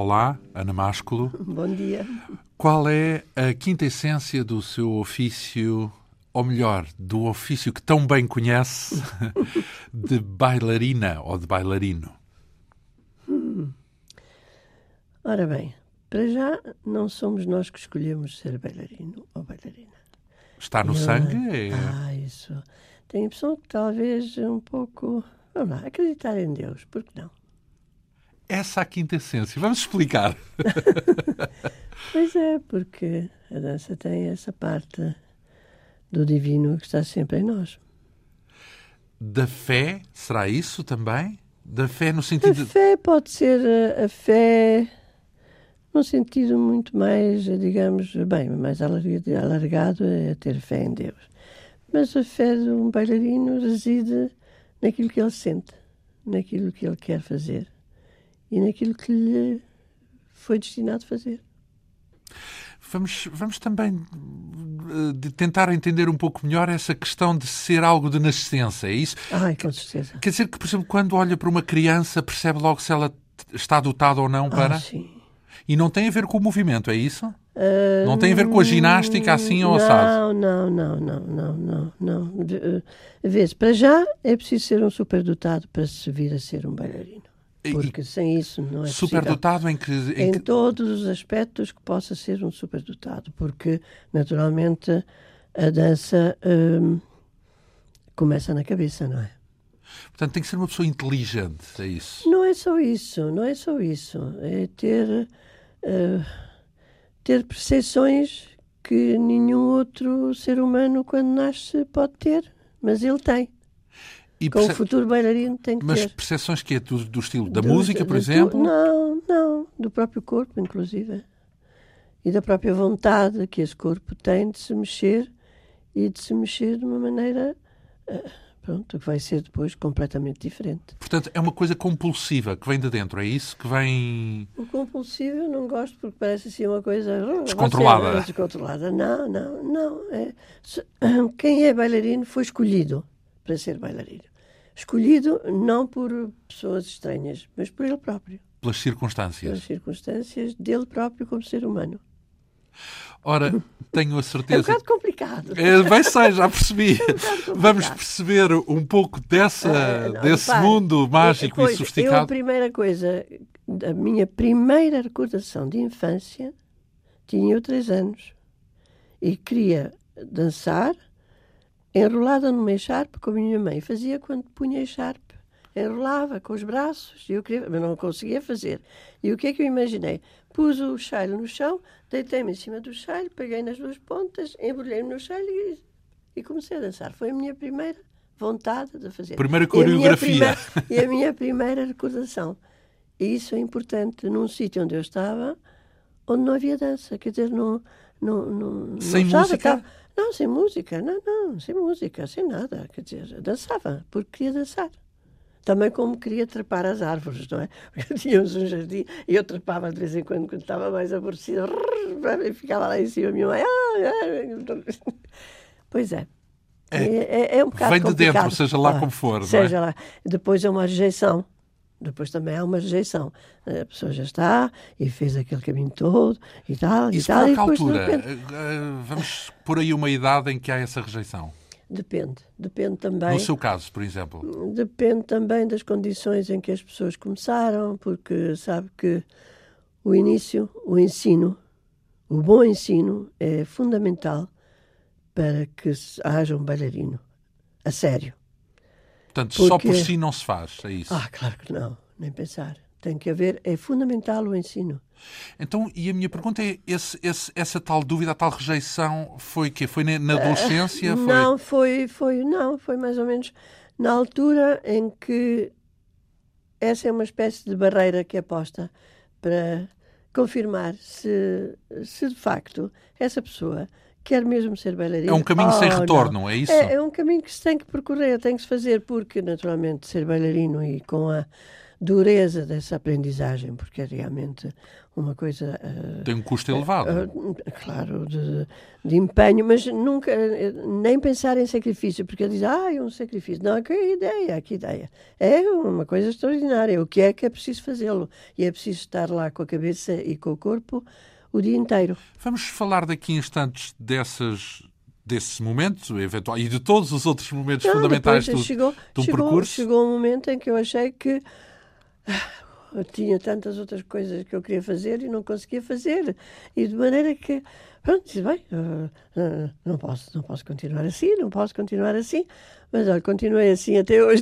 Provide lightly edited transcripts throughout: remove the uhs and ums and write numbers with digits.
Olá, Ana Másculo. Bom dia. Qual é a quinta essência do seu ofício, ou melhor, do ofício que tão bem conhece, de bailarina ou de bailarino? Ora bem, para já não somos nós que escolhemos ser bailarino ou bailarina. Está no sangue? Isso. Tenho a impressão que talvez um pouco... Vamos lá, acreditar em Deus, por que não? Essa é a quinta essência. Vamos explicar. Pois é, porque a dança tem essa parte do divino que está sempre em nós. Da fé, será isso também? Da fé no sentido... A fé pode ser a fé num sentido muito mais, digamos, bem, mais alargado é ter fé em Deus. Mas a fé de um bailarino reside naquilo que ele sente, naquilo que ele quer fazer e naquilo que lhe foi destinado a fazer. Vamos também tentar entender um pouco melhor essa questão de ser algo de nascença, é isso? Ai, com certeza. Quer dizer que, por exemplo, quando olha para uma criança, percebe logo se ela está dotada ou não para... Sim. E não tem a ver com o movimento, é isso? Não tem a ver com a ginástica assim ou assado? Não. Vês, para já é preciso ser um superdotado para se vir a ser um bailarino. Porque sem isso não é possível. Superdotado em todos os aspectos que possa ser um superdotado. Porque, naturalmente, a dança começa na cabeça, não é? Portanto, tem que ser uma pessoa inteligente, é isso? Não é só isso. É ter percepções que nenhum outro ser humano, quando nasce, pode ter. Mas ele tem. Com o futuro bailarino tem que ter. Mas percepções que é do estilo da música, por exemplo? Não. Do próprio corpo, inclusive. E da própria vontade que esse corpo tem de se mexer e de se mexer de uma maneira... que vai ser depois completamente diferente. Portanto, é uma coisa compulsiva que vem de dentro, é isso? Que vem... O compulsivo eu não gosto porque parece assim uma coisa... Descontrolada. Descontrolada. Não. Quem é bailarino foi escolhido para ser bailarino. Escolhido não por pessoas estranhas, mas por ele próprio. Pelas circunstâncias. Pelas circunstâncias dele próprio como ser humano. Ora, tenho a certeza... É um bocado complicado. Bem sei, já percebi. Vamos perceber um pouco desse mundo mágico e sofisticado. A primeira coisa, a minha primeira recordação de infância, tinha eu 3 anos e queria dançar enrolada numa echarpe como a minha mãe fazia quando punha a echarpe. Enrolava com os braços, mas não conseguia fazer. E o que é que eu imaginei? Pus o chale no chão, deitei-me em cima do chale, peguei nas 2 pontas, embrulhei-me no chale e comecei a dançar. Foi a minha primeira vontade de fazer. Primeira coreografia. E a minha primeira recordação. E isso é importante num sítio onde eu estava, onde não havia dança. Quer dizer, sem música? Não, sem música. Não, sem música, sem nada. Quer dizer, dançava, porque queria dançar. Também como queria trepar as árvores, não é? Porque tínhamos um jardim e eu trepava de vez em quando estava mais aborrecida. E ficava lá em cima a minha mãe. Pois é. É um bocado vem de complicado. dentro, seja lá como for. Seja lá. Depois é uma rejeição. Depois também há uma rejeição. A pessoa já está e fez aquele caminho todo e tal. Isso por que altura? Vamos por aí uma idade em que há essa rejeição. Depende também. No seu caso, por exemplo? Depende também das condições em que as pessoas começaram, porque sabe que o ensino, o bom ensino é fundamental para que haja um bailarino, a sério. Portanto, só por si não se faz, é isso? Claro que não, nem pensar. Tem que haver, é fundamental o ensino. Então, e a minha pergunta é, essa tal dúvida, a tal rejeição, foi quê? Foi na adolescência? Não, foi mais ou menos na altura em que essa é uma espécie de barreira que é posta para confirmar se de facto essa pessoa quer mesmo ser bailarina. É um caminho sem retorno, não é isso? É um caminho que se tem que percorrer, tem que se fazer, porque naturalmente ser bailarino e com a dureza dessa aprendizagem, porque é realmente uma coisa... Tem um custo elevado. Claro, de empenho, mas nunca, nem pensar em sacrifício, porque ele diz, é um sacrifício. Não, que ideia, que ideia. É uma coisa extraordinária. O que é preciso fazê-lo? E é preciso estar lá com a cabeça e com o corpo o dia inteiro. Vamos falar daqui a instantes desse momento eventual e de todos os outros momentos fundamentais do percurso. Chegou um momento em que eu achei que eu tinha tantas outras coisas que eu queria fazer e não conseguia fazer. E de maneira que, pronto, disse, bem, não posso continuar assim. Mas olha, continuei assim até hoje.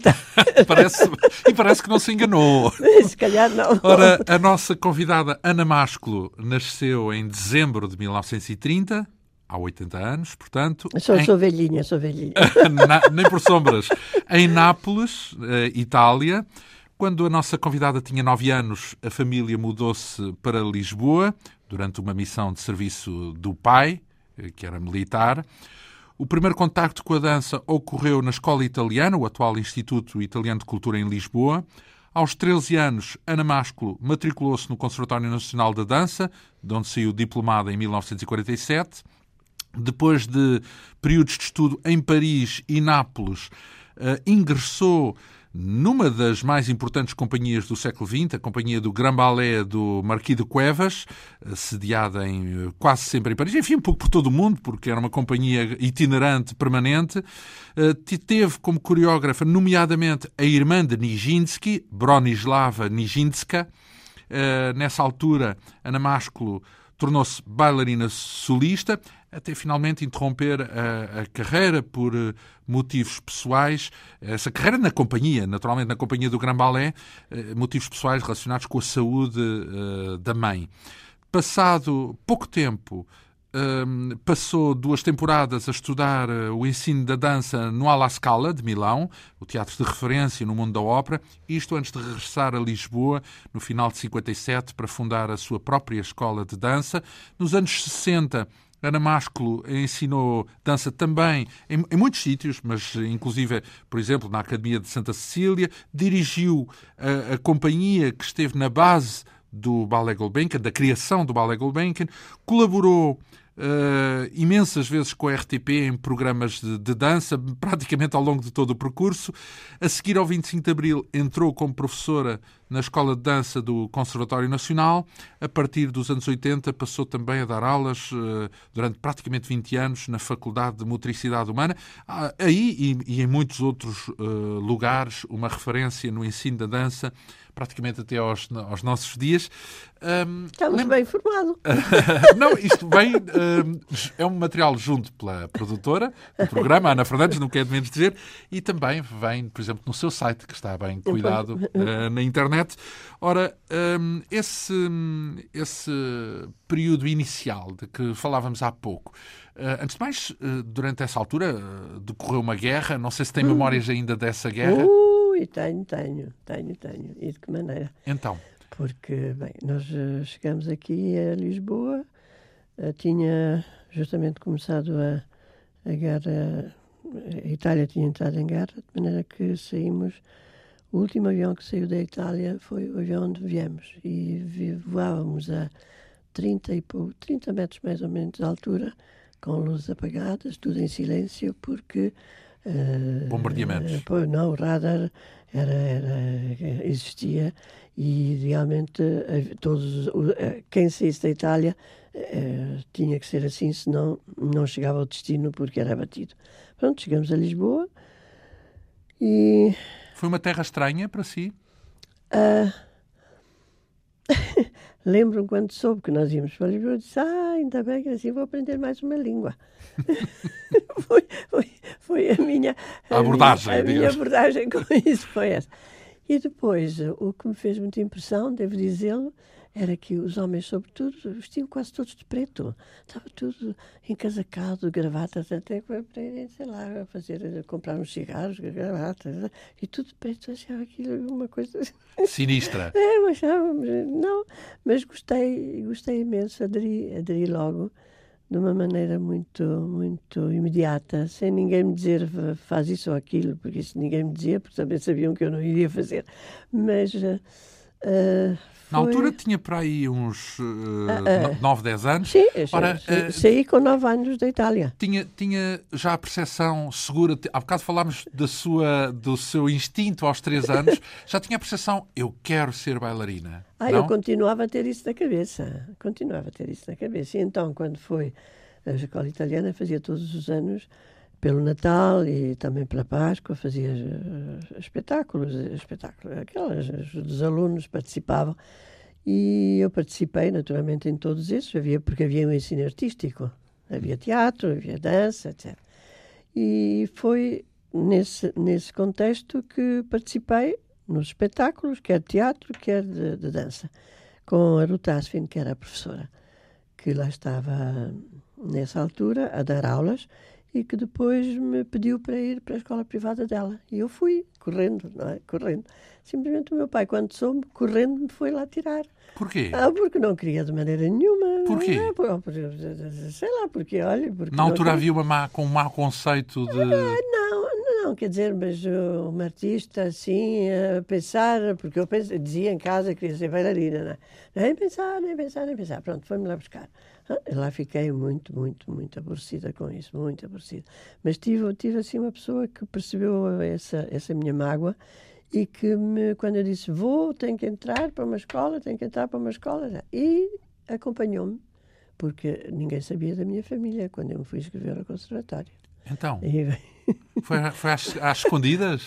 Parece que não se enganou. Se calhar não. Ora, a nossa convidada Ana Másculo nasceu em dezembro de 1930, há 80 anos, portanto... Sou velhinha. Nem por sombras. Em Nápoles, Itália. Quando a nossa convidada tinha 9 anos, a família mudou-se para Lisboa, durante uma missão de serviço do pai, que era militar. O primeiro contacto com a dança ocorreu na Escola Italiana, o atual Instituto Italiano de Cultura em Lisboa. Aos 13 anos, Ana Másculo matriculou-se no Conservatório Nacional da Dança, de onde saiu diplomada em 1947. Depois de períodos de estudo em Paris e Nápoles, ingressou numa das mais importantes companhias do século XX, a companhia do Grand Ballet do Marquis de Cuevas, sediada quase sempre em Paris, enfim, um pouco por todo o mundo, porque era uma companhia itinerante, permanente. Teve como coreógrafa, nomeadamente, a irmã de Nijinsky, Bronislava Nijinska. Nessa altura, Ana Másculo tornou-se bailarina solista, até finalmente interromper a carreira por motivos pessoais. Essa carreira na companhia, naturalmente na companhia do Grand Ballet, motivos pessoais relacionados com a saúde da mãe. Passado pouco tempo, passou 2 temporadas a estudar o ensino da dança no Alla Scala, de Milão, o teatro de referência no mundo da ópera, isto antes de regressar a Lisboa, no final de 57, para fundar a sua própria escola de dança. Nos anos 60, Ana Másculo ensinou dança também em muitos sítios, mas inclusive, por exemplo, na Academia de Santa Cecília. Dirigiu a companhia que esteve na base do Ballet Gulbenkian, da criação do Ballet Gulbenkian. Colaborou imensas vezes com a RTP em programas de dança, praticamente ao longo de todo o percurso. A seguir ao 25 de Abril entrou como professora na Escola de Dança do Conservatório Nacional. A partir dos anos 80 passou também a dar aulas durante praticamente 20 anos na Faculdade de Motricidade Humana. Aí e em muitos outros lugares, uma referência no ensino da dança, praticamente até aos nossos dias. Estamos bem informados. Não, isto vem... é um material junto pela produtora do programa, Ana Fernandes, não quero menos dizer, e também vem, por exemplo, no seu site, que está bem cuidado na internet. Ora, esse período inicial de que falávamos há pouco, antes de mais, durante essa altura decorreu uma guerra, não sei se tem memórias ainda dessa guerra. Tenho. E de que maneira? Então. Porque, bem, nós chegamos aqui a Lisboa, tinha justamente começado a guerra, a Itália tinha entrado em guerra, de maneira que saímos, o último avião que saiu da Itália foi o avião onde viemos, e voávamos a 30 metros mais ou menos de altura, com luzes apagadas, tudo em silêncio, porque... bombardeamentos. Não, o radar existia e realmente quem saísse da Itália tinha que ser assim, senão não chegava ao destino porque era abatido. Pronto, chegamos a Lisboa e... Foi uma terra estranha para si? Lembro-me quando soube que nós íamos para Lisboa, disse, ainda bem que assim vou aprender mais uma língua. foi a minha abordagem com isso foi essa. E depois, o que me fez muita impressão, devo dizê-lo, era que os homens, sobretudo, vestiam quase todos de preto. Estava tudo encasacado, gravatas, até para irem, sei lá, comprar uns cigarros, gravatas, e tudo de preto. Eu achava aquilo uma coisa... Sinistra. Eu achava, não, mas gostei imenso, aderi logo, de uma maneira muito, muito imediata, sem ninguém me dizer faz isso ou aquilo, porque isso ninguém me dizia, porque também sabiam que eu não iria fazer. Mas na altura tinha para aí uns 9, 10 anos. Sim, Ora, saí com 9 anos da Itália. Tinha já a percepção segura, há bocado falámos do seu instinto aos 3 anos, já tinha a percepção, eu quero ser bailarina. Não? Eu continuava a ter isso na cabeça. E então, quando foi a escola italiana, fazia todos os anos, pelo Natal e também pela Páscoa, fazia espetáculos, os alunos participavam. E eu participei, naturalmente, em todos esses, porque havia um ensino artístico. Havia teatro, havia dança, etc. E foi nesse contexto que participei nos espetáculos, quer de teatro, quer de dança, com a Ruth Asfin, que era a professora, que lá estava nessa altura a dar aulas e que depois me pediu para ir para a escola privada dela. E eu fui, correndo, não é? Correndo. Simplesmente o meu pai, quando soube, correndo, me foi lá tirar. Porquê? Porque não queria de maneira nenhuma. Porquê? Sei lá, porque, olha... Porque na altura havia um mau conceito de... Não, quer dizer, mas uma artista, assim, a pensar, porque eu dizia em casa que queria ser bailarina, não é? Nem pensar. Pronto, foi-me lá buscar. Lá fiquei muito, muito, muito aborrecida com isso, muito aborrecida. Mas tive assim, uma pessoa que percebeu essa minha mágoa e que, quando eu disse, tenho que entrar para uma escola, e acompanhou-me, porque ninguém sabia da minha família quando eu me fui inscrever ao conservatório. Então, foi às escondidas?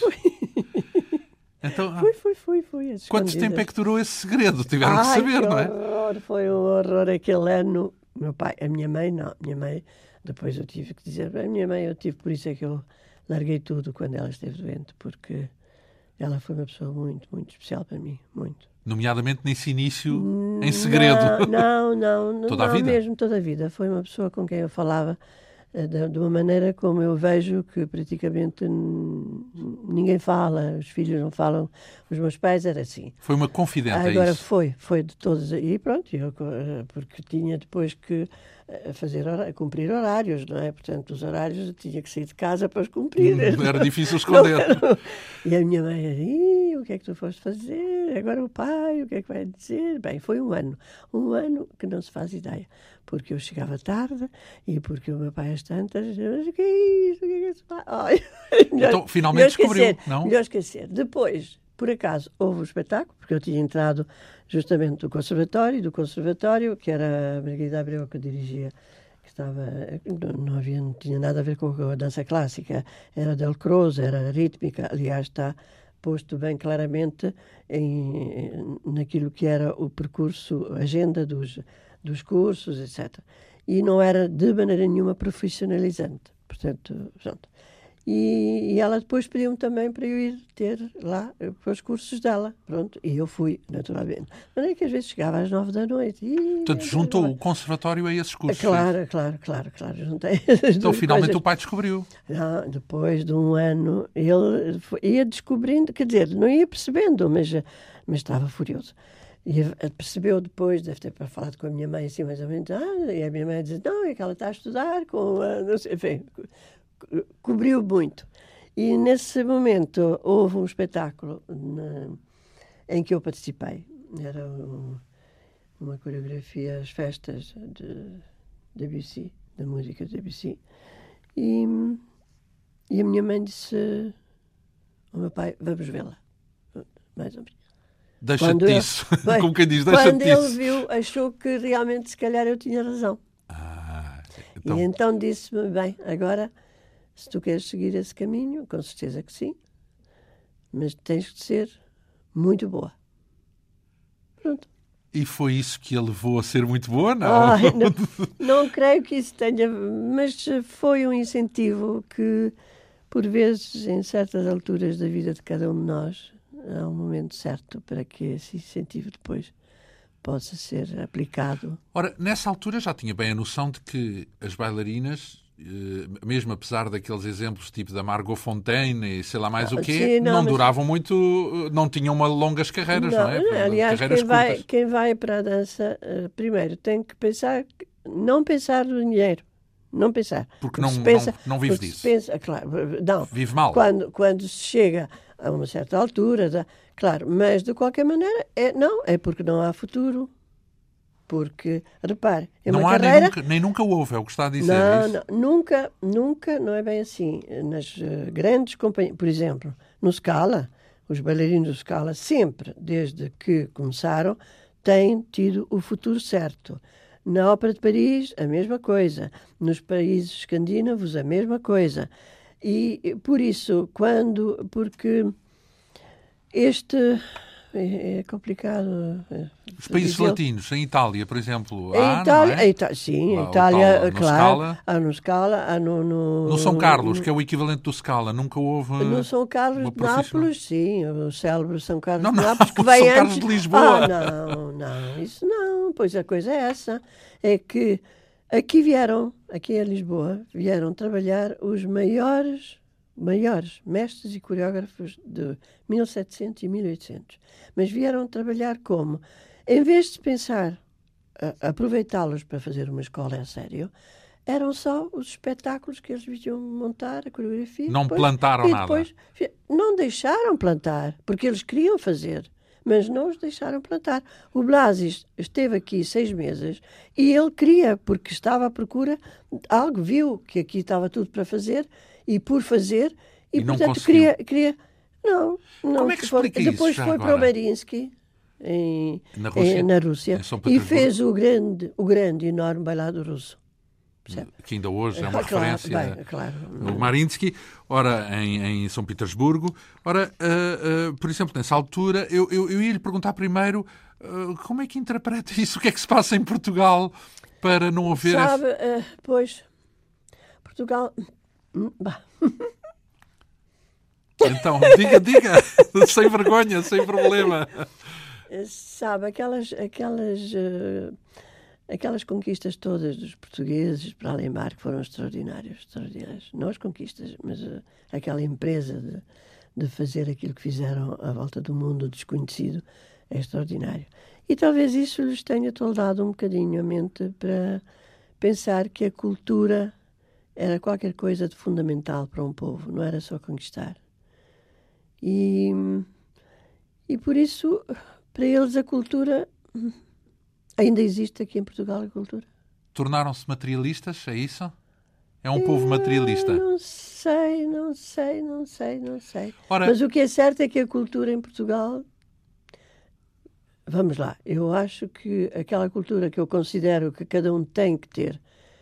Então, foi. Quanto tempo é que durou esse segredo? Tiveram que saber, não é? Horror, foi um horror aquele ano. Meu pai, a minha mãe, não. Minha mãe, depois eu tive que dizer, por isso é que eu larguei tudo quando ela esteve doente, porque ela foi uma pessoa muito, muito especial para mim, muito. Nomeadamente nesse início em segredo. Não. Toda a vida? Mesmo toda a vida. Foi uma pessoa com quem eu falava de uma maneira como eu vejo que praticamente ninguém fala, os filhos não falam, os meus pais era assim. Foi uma confidente, Agora é isso? foi de todos, e pronto, porque tinha depois que cumprir horários, não é? Portanto, os horários eu tinha que sair de casa para os cumprir. Era difícil esconder. E a minha mãe dizia, o que é que tu foste fazer? Agora o pai, o que é que vai dizer? Bem, foi um ano que não se faz ideia, porque eu chegava tarde e porque o meu pai às tantas, mas o que é isso? O que é que se faz? Então, finalmente descobriu, não? Melhor esquecer. Depois, por acaso, houve um espetáculo, porque eu tinha entrado justamente do conservatório, que era a Margarida Abreu que dirigia, que não tinha nada a ver com a dança clássica, era Del Croce, era rítmica, aliás, está posto bem claramente naquilo que era o percurso, a agenda dos cursos, etc. E não era de maneira nenhuma profissionalizante, portanto, pronto. E ela depois pediu-me também para eu ir ter lá para os cursos dela. Pronto, e eu fui, naturalmente. Mas é que às vezes chegava às 9 da noite. Portanto, juntou o conservatório a esses cursos. Claro. Juntei então, finalmente o pai descobriu. Não, depois de um ano, ele ia descobrindo, quer dizer, não ia percebendo, mas estava furioso. E percebeu depois, deve ter falado com a minha mãe assim mais ou menos, e a minha mãe dizia, não, é que ela está a estudar com não sei, enfim, cobriu muito. E nesse momento houve um espetáculo em que eu participei. Era uma coreografia às festas de Debussy, da música de Debussy. E a minha mãe disse ao meu pai, vamos vê-la. Mais ou menos. Deixa-te disso. Como quem diz, deixa-te disso. Quando ele viu, achou que realmente se calhar eu tinha razão. Então... E então disse-me, bem, agora... Se tu queres seguir esse caminho, com certeza que sim, mas tens de ser muito boa. Pronto. E foi isso que a levou a ser muito boa, não? Não creio que isso tenha, mas foi um incentivo que, por vezes, em certas alturas da vida de cada um de nós, há um momento certo para que esse incentivo depois possa ser aplicado. Ora, nessa altura já tinha bem a noção de que as bailarinas... mesmo apesar daqueles exemplos tipo da Margot Fonteine e sei lá mais o quê, não duravam muito, não tinham longas carreiras, não é? Aliás, carreiras quem vai para a dança, primeiro tem que pensar não pensar no dinheiro. Não pensar. Porque se pensa, não vive porque disso. se pensa, claro, não. Vive mal. Quando se chega a uma certa altura, claro, mas de qualquer maneira, é porque não há futuro. Porque, repare, é não uma há carreira... nem nunca houve, é o que está a dizer. Nunca, não é bem assim. Nas grandes companhias, por exemplo, no Scala, os bailarinos do Scala sempre, desde que começaram, têm tido o futuro certo. Na Ópera de Paris, a mesma coisa. Nos países escandinavos, a mesma coisa. E por isso, porque este... É complicado. Os países latinos, em Itália, por exemplo, Em não é? Sim, Lá, em Itália, no claro. Scala. Há no Scala, há No São Carlos, que é o equivalente do Scala, nunca houve no São Carlos uma de Nápoles, sim, o célebre São Carlos de Nápoles, que o vem São antes... Carlos de Lisboa. Não, isso não. Pois a coisa é essa. É que aqui em Lisboa, vieram trabalhar os maiores mestres e coreógrafos de 1700 e 1800. Mas vieram trabalhar como? Em vez de pensar aproveitá-los para fazer uma escola a sério, eram só os espetáculos que eles vinham montar, a coreografia. Não plantaram nada. Não deixaram plantar, porque eles queriam fazer, mas não os deixaram plantar. O Blasi esteve aqui 6 meses e ele queria, porque estava à procura de algo, viu que aqui estava tudo para fazer e por fazer, e não portanto conseguiu. queria... Não. Como é que explica isso? Depois foi para o Mariinsky, na Rússia, e fez o grande e enorme bailado russo. Percebe? Que ainda hoje é uma referência. Claro. O Mariinsky, ora em São Petersburgo. Ora, por exemplo, nessa altura, eu ia lhe perguntar primeiro como é que interpreta isso? O que é que se passa em Portugal para não haver... Sabe, pois, Portugal... Então, diga, sem vergonha, sem problema. Sabe, aquelas conquistas todas dos portugueses para além mar que foram extraordinárias. Não as conquistas, mas aquela empresa de fazer aquilo que fizeram à volta do mundo desconhecido é extraordinário. E talvez isso lhes tenha toldado um bocadinho a mente para pensar que a cultura era qualquer coisa de fundamental para um povo, não era só conquistar. E por isso, para eles, a cultura... Ainda existe aqui em Portugal a cultura? Tornaram-se materialistas, é isso? É um povo materialista? Não sei. Ora, mas o que é certo é que a cultura em Portugal... Vamos lá, eu acho que aquela cultura que eu considero que cada um tem que ter,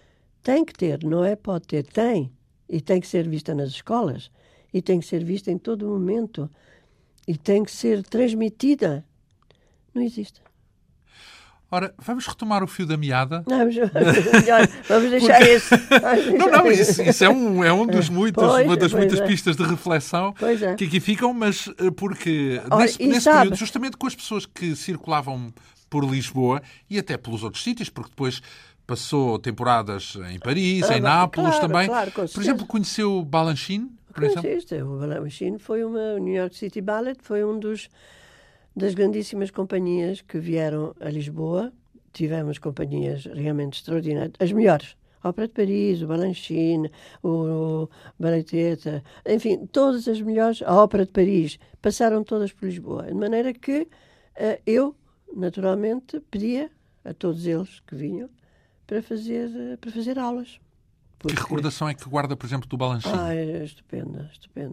não é pode ter, tem. E tem que ser vista nas escolas. E tem que ser vista em todo momento. E tem que ser transmitida. Não existe. Ora, vamos retomar o fio da meada. Vamos deixar esse. Não, isso é um dos uma das muitas pistas de reflexão que aqui ficam, mas porque nesse período, justamente com as pessoas que circulavam por Lisboa e até pelos outros sítios, porque depois passou temporadas em Paris, em Nápoles também. Por exemplo, conheceu Balanchine? O Balanchine foi o New York City Ballet, foi das grandíssimas companhias que vieram a Lisboa. Tivemos companhias realmente extraordinárias, as melhores. A Ópera de Paris, o Balanchine, o Balleteta, enfim, todas as melhores. A Ópera de Paris passaram todas por Lisboa. De maneira que eu, naturalmente, pedia a todos eles que vinham para fazer aulas. Que recordação é que guarda, por exemplo, do Balanchine? É estupenda.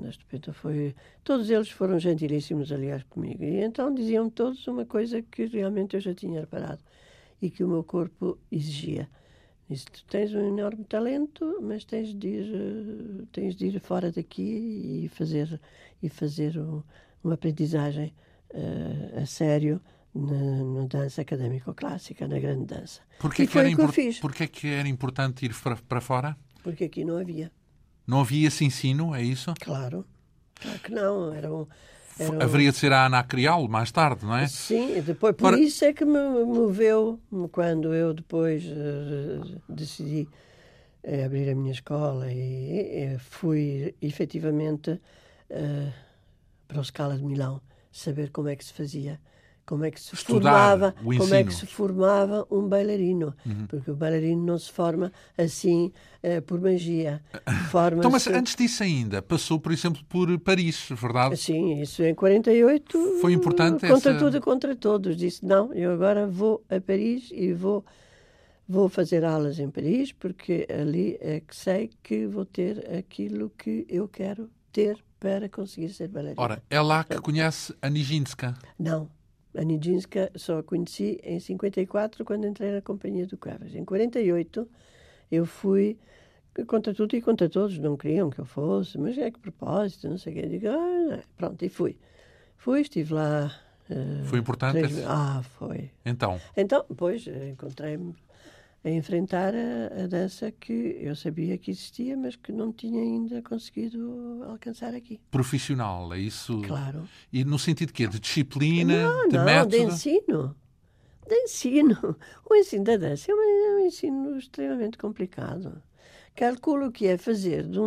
Todos eles foram gentilíssimos, aliás, comigo. E então diziam todos uma coisa que realmente eu já tinha reparado e que o meu corpo exigia. Disse, tu tens um enorme talento, mas tens de ir fora daqui e fazer uma aprendizagem a sério na dança académico-clássica, na grande dança. Porquê que era importante ir para fora? Porque aqui não havia. Não havia esse ensino, é isso? Claro que não. Haveria de ser a Ana Crial mais tarde, não é? Sim, depois, por isso é que me moveu, quando eu depois decidi abrir a minha escola e fui efetivamente para o Scala de Milão saber como é que se fazia como é que se Estudar formava, o como é que ensino. se formava um bailarino, porque o bailarino não se forma assim por magia. Então, mas Forma-se. antes disso ainda, passou, por exemplo, por Paris, verdade? Sim, isso em 48, Foi importante contra essa... tudo e contra todos. Disse, não, eu agora vou a Paris e vou fazer aulas em Paris, porque ali é que sei que vou ter aquilo que eu quero ter para conseguir ser bailarina. Ora, é lá que conhece a Nijinská. Não, a Nijinská só a conheci em 54, quando entrei na Companhia do Cuevas. Em 48, eu fui contra tudo e contra todos. Não queriam que eu fosse, mas é que propósito, não sei o quê. Digo, pronto, e fui. Fui, estive lá... Foi importante? Foi. Então, Então, depois, encontrei-me a enfrentar a dança que eu sabia que existia, mas que não tinha ainda conseguido alcançar aqui. profissional, é isso? Claro. E no sentido de quê? De disciplina, Não, de não, método? de ensino. De ensino. O ensino da dança é um ensino extremamente complicado. Calculo que é fazer de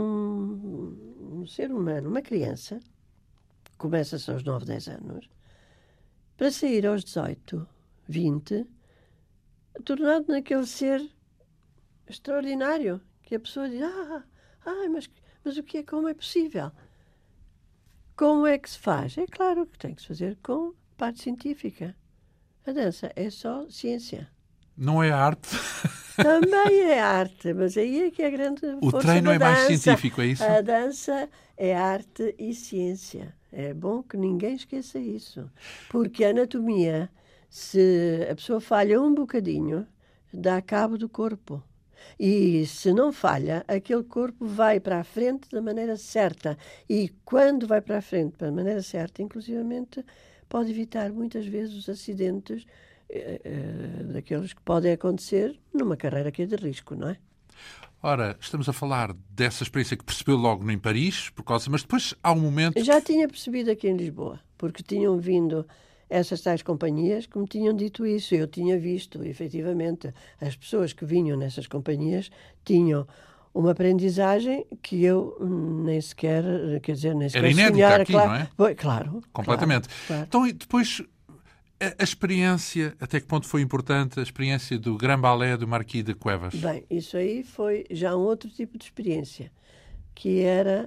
um ser humano, uma criança, começa-se aos 9, 10 anos, para sair aos 18, 20, tornado naquele ser extraordinário, que a pessoa diz, mas o que é, como é possível? Como é que se faz? É claro que tem que se fazer com parte científica. A dança é só ciência. Não é arte? Também é arte, mas aí é que é a grande O força treino da é mais dança. científico, é isso? A dança é arte e ciência. É bom que ninguém esqueça isso. Porque a anatomia, se a pessoa falha um bocadinho, dá cabo do corpo. E se não falha, aquele corpo vai para a frente da maneira certa. E quando vai para a frente da maneira certa, inclusivamente, pode evitar muitas vezes os acidentes daqueles que podem acontecer numa carreira que é de risco, não é? Ora, estamos a falar dessa experiência que percebeu logo em Paris, mas depois há um momento... Eu já tinha percebido aqui em Lisboa, porque tinham vindo essas tais companhias que me tinham dito isso. Eu tinha visto, efetivamente, as pessoas que vinham nessas companhias tinham uma aprendizagem que eu nem sequer, quer dizer, nem sequer Era inédita sonhar, aqui, claro, não é? Foi, claro. Completamente. Claro. Então, e depois, a experiência, até que ponto foi importante a experiência do Grand Ballet do Marquis de Cuevas? Bem, isso aí foi já um outro tipo de experiência, que era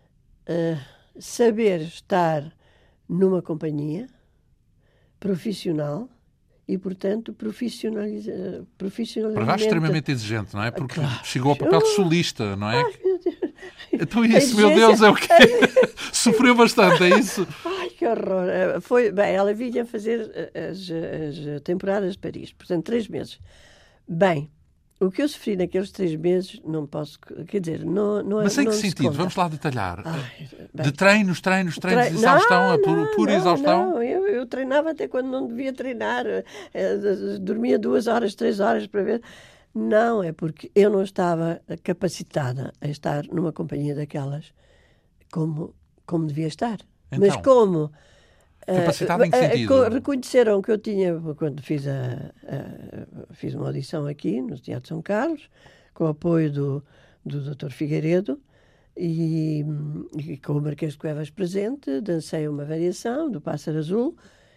saber estar numa companhia profissional e, portanto, profissionalmente... Para já extremamente exigente, não é? Porque Claro. chegou ao papel de solista, não é? Ai, meu Deus. Então isso, meu Deus, é o quê? Sofreu bastante, é isso? Ai, que horror. Bem, ela vinha fazer as temporadas de Paris, portanto, 3 meses. Bem, o que eu sofri naqueles 3 meses, não posso... Quer dizer, não Mas em não que se sentido? conta. Vamos lá detalhar. Ai, bem. De treinos, exaustão, pura exaustão? Não, eu treinava até quando não devia treinar. Dormia 2 horas, 3 horas para ver. Não, é porque eu não estava capacitada a estar numa companhia daquelas como devia estar. Então, mas como... capacitada em que sentido? Reconheceram que eu tinha, quando fiz uma audição aqui no Teatro São Carlos, com o apoio do Dr. Figueiredo, e com o Marquês de Cuevas presente, dancei uma variação do Pássaro Azul,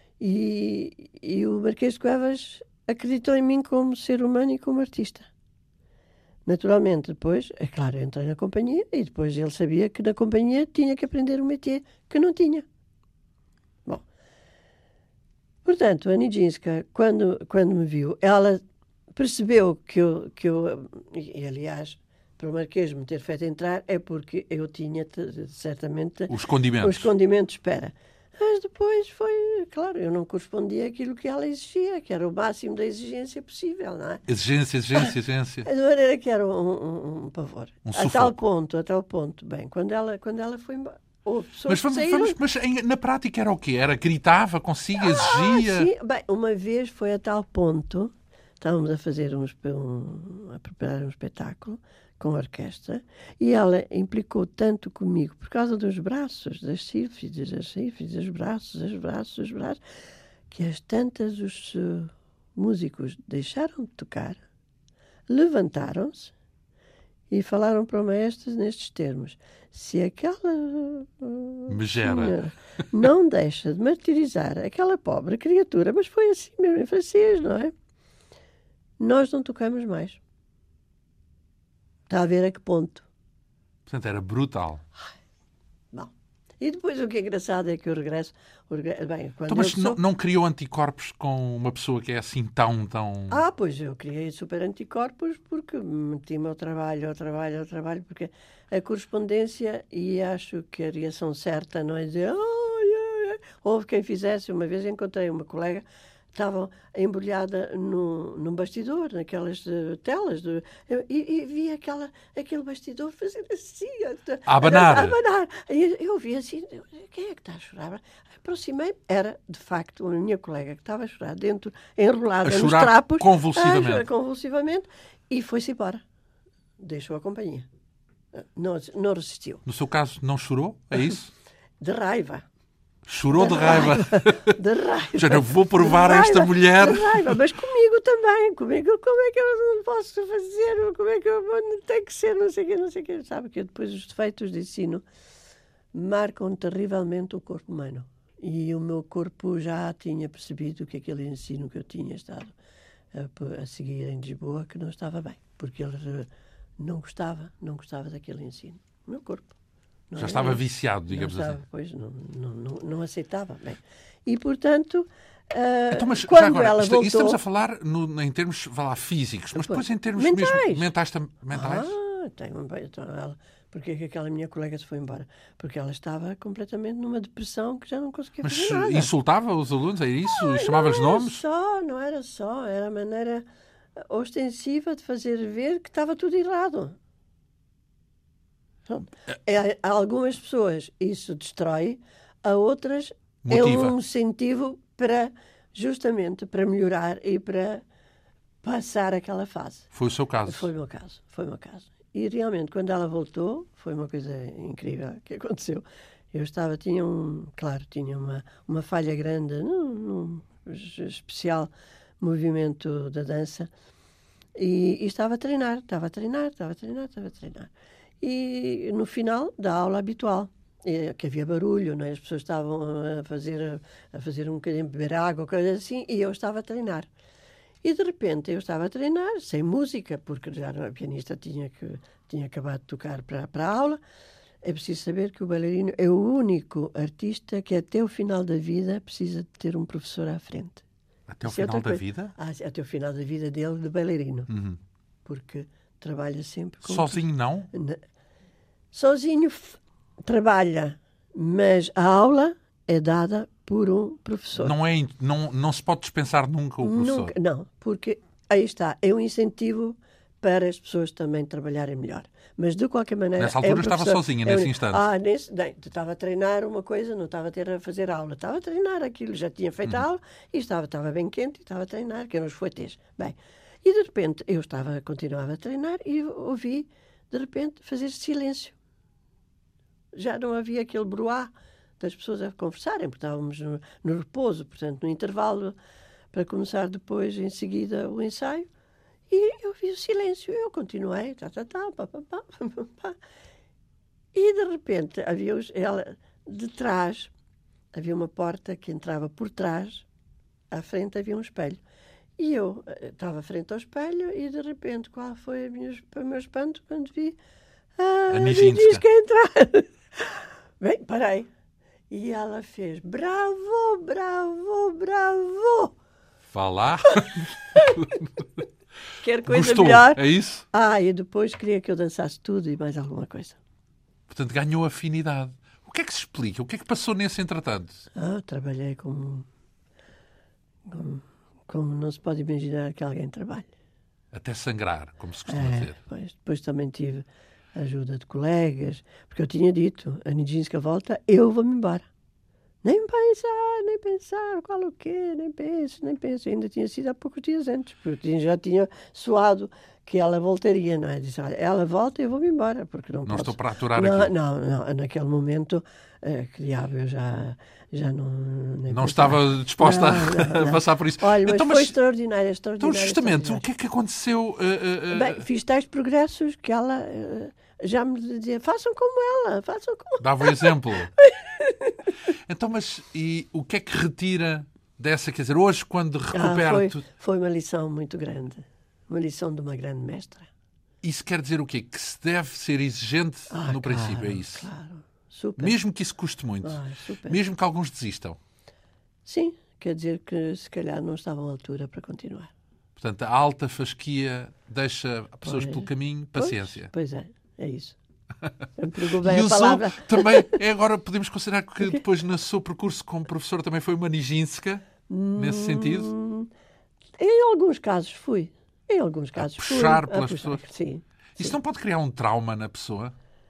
e o Marquês de Cuevas acreditou em mim como ser humano e como artista. Naturalmente, depois, é claro, eu entrei na companhia, e depois ele sabia que na companhia tinha que aprender um métier que não tinha. Bom, portanto, a Nijinská, quando me viu, ela percebeu que eu e aliás, para o Marquês me ter feito entrar, é porque eu tinha certamente Os condimentos. Espera. Mas depois foi, claro, eu não correspondia àquilo que ela exigia, que era o máximo da exigência possível, não é? Exigência. De maneira que era um pavor. Um a tal ponto. Bem, quando ela foi embora. Mas na prática era o quê? Gritava consigo, exigia? Sim. Bem, uma vez foi a tal ponto, estávamos a fazer a preparar um espetáculo com a orquestra, e ela implicou tanto comigo, por causa dos braços, das sílfides, os braços, que às tantas os músicos deixaram de tocar, levantaram-se e falaram para o maestro nestes termos: se aquela Megera. senhora não deixa de martirizar aquela pobre criatura, mas foi assim mesmo em francês, não é? Nós não tocamos mais. Está a ver a que ponto? Portanto, era brutal. Bom. E depois o que é engraçado é que eu regresso... Bem, quando Então, mas eu sou... não criou anticorpos com uma pessoa que é assim tão... Ah, pois eu criei super anticorpos porque meti-me ao trabalho, porque a correspondência, e acho que a reação certa não é dizer... Houve quem fizesse. Uma vez encontrei uma colega, estava embrulhada num bastidor, naquelas telas, e vi aquele bastidor fazer assim, A abanar. A abanar. E eu vi assim, quem é que está a chorar? Aproximei-me, era de facto a minha colega que estava a chorar dentro, enrolada nos trapos, convulsivamente. a chorar convulsivamente, e foi-se embora. Deixou a companhia. Não resistiu. No seu caso, não chorou? É isso? De raiva. Chorou de raiva. De raiva. Já não vou provar a esta mulher. De raiva, mas comigo também. Comigo, como é que eu não posso fazer? Como é que eu tem que ser? Não sei o quê. Sabe que depois os defeitos de ensino marcam terrivelmente o corpo humano. E o meu corpo já tinha percebido que aquele ensino que eu tinha estado a seguir em Lisboa, que não estava bem. Porque ele não gostava daquele ensino. O meu corpo. Já estava viciado, digamos assim. Pois, não aceitava. Bem. E, portanto, então, mas quando já agora, ela voltou... Estamos a falar em termos físicos, mas depois em termos mentais. Porque é que aquela minha colega se foi embora? Porque ela estava completamente numa depressão que já não conseguia fazer nada. Mas insultava os alunos, é isso? Chamava-lhes nomes? Não era só. Era a maneira ostensiva de fazer ver que estava tudo errado. A algumas pessoas isso destrói, a outras motiva. É um incentivo justamente para melhorar e para passar aquela fase. Foi o seu caso? Foi o meu caso. E realmente, quando ela voltou, foi uma coisa incrível que aconteceu. Tinha uma falha grande num especial movimento da dança e estava a treinar. E no final da aula habitual, que havia barulho, não é? As pessoas estavam a fazer um bocadinho, beber água, coisa assim, e eu estava a treinar. E de repente eu estava a treinar, sem música, porque já a pianista tinha acabado de tocar para a aula. É preciso saber que o bailarino é o único artista que até o final da vida precisa de ter um professor à frente. Até o final da vida? Até o final da vida dele de bailarino. Uhum. Porque trabalha sempre com... Sozinho não? Sozinho trabalha, mas a aula é dada por um professor. Não se pode dispensar nunca o professor? Não, porque aí está, é um incentivo para as pessoas também trabalharem melhor. Mas de qualquer maneira... Nessa altura estava sozinha, nesse instante? Estava a treinar uma coisa, não estava a fazer aula. Estava a treinar aquilo, já tinha feito a aula e estava bem quente e estava a treinar, que eram os fouetés. Bem, e de repente eu continuava a treinar e ouvi, de repente, fazer silêncio. Já não havia aquele bruá das pessoas a conversarem, porque estávamos no repouso, portanto, no intervalo, para começar depois, em seguida, o ensaio. E eu vi o silêncio. Eu continuei, E, de repente, de trás, havia uma porta que entrava por trás, à frente havia um espelho. E eu estava frente ao espelho e, de repente, qual foi o meu espanto quando vi a Nijinská entrar? Bem, parei. E ela fez bravo, bravo, bravo. Vá lá. Quer coisa Gostou, melhor? É isso? E depois queria que eu dançasse tudo e mais alguma coisa. Portanto, ganhou afinidade. O que é que se explica? O que é que passou nesse entretanto? Trabalhei como não se pode imaginar que alguém trabalhe. Até sangrar, como se costuma dizer. Depois também tive a ajuda de colegas, porque eu tinha dito, a Nijinská volta, eu vou-me embora. Nem pensar, qual o quê, nem penso. Ainda tinha sido há poucos dias antes, porque já tinha soado que ela voltaria, não é? Disse, olha, ela volta e eu vou-me embora, porque não posso. estou para aturar não, aquilo. não, naquele momento, que diabo, eu já não... nem Não pensava. estava disposta Não. a passar por isso. Olha, mas Então, foi extraordinário. Então, justamente, o que é que aconteceu? Bem, fiz tais progressos que ela já me dizia, façam como ela, façam como... Dava o exemplo. Então, mas e o que é que retira dessa? Quer dizer, hoje, quando recupera tudo... Foi uma lição muito grande. Uma lição de uma grande mestra. Isso quer dizer o quê? Que se deve ser exigente no princípio, é isso? Claro, super. Mesmo que isso custe muito. Super. Mesmo que alguns desistam. Sim, quer dizer que se calhar não estavam à altura para continuar. Portanto, a alta fasquia deixa pessoas pelo caminho, paciência. Pois é isso. Empregou bem E a usou palavra. também, agora podemos considerar que depois no seu percurso como professor também foi uma Nijinska, nesse sentido? Em alguns casos fui. Em alguns casos fui. Puxar pelas pessoas. Sim. Isso não pode criar um trauma na pessoa?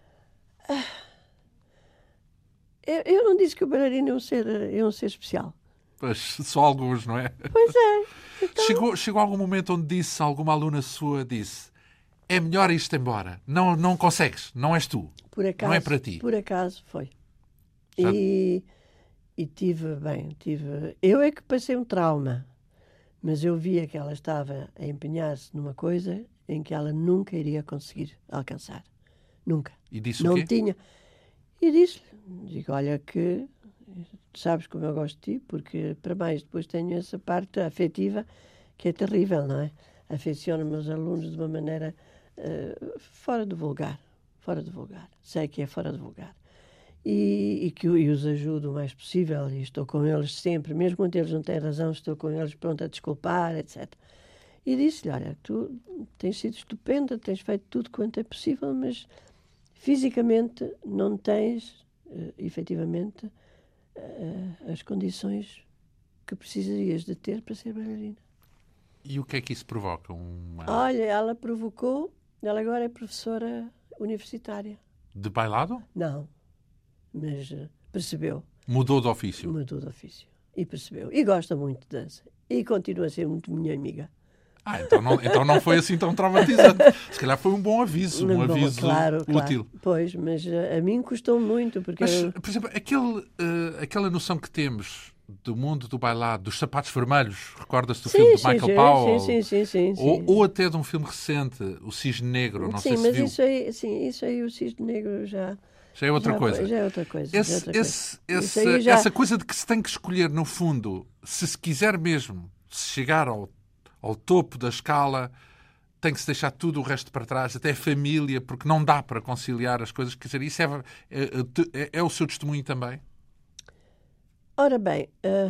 Eu não disse que o bailarino é um ser especial. Pois, só alguns, não é? Pois é. Então... Chegou algum momento onde disse, alguma aluna sua disse, é melhor isto embora, não consegues, não és tu, Por acaso, não é para ti. Por acaso foi. Já... E tive... Eu é que passei um trauma, mas eu via que ela estava a empenhar-se numa coisa em que ela nunca iria conseguir alcançar. Nunca. E disse não o quê? tinha. E digo, olha que sabes como eu gosto de ti, porque para mais depois tenho essa parte afetiva que é terrível, não é? Afeciono-me aos alunos de uma maneira fora do vulgar. Sei que é fora do vulgar. E que os ajudo o mais possível e estou com eles sempre, mesmo quando eles não têm razão, estou com eles pronto a desculpar, etc. E disse-lhe, olha, tu tens sido estupenda, tens feito tudo quanto é possível, mas fisicamente não tens, efetivamente, as condições que precisarias de ter para ser bailarina. E o que é que isso provoca? Olha, ela provocou, ela agora é professora universitária. De bailado? Não, mas percebeu. Mudou de ofício? Mudou de ofício. E percebeu. E gosta muito de dança. E continua a ser muito minha amiga. Então não foi assim tão traumatizante. Se calhar foi um bom aviso, aviso útil. Claro. Pois, mas a mim custou muito. Porque por exemplo, aquela noção que temos do mundo do bailado, dos sapatos vermelhos, recordas-te do filme de Michael Powell? Sim. Ou até de um filme recente, O Cisne Negro, não sei se viu. Isso aí, o Cisne Negro já é outra coisa. Já é outra coisa. Essa coisa de que se tem que escolher, no fundo, se quiser mesmo chegar ao topo da escala, tem que se deixar tudo o resto para trás, até a família, porque não dá para conciliar as coisas. Quer dizer, isso é o seu testemunho também? Ora bem,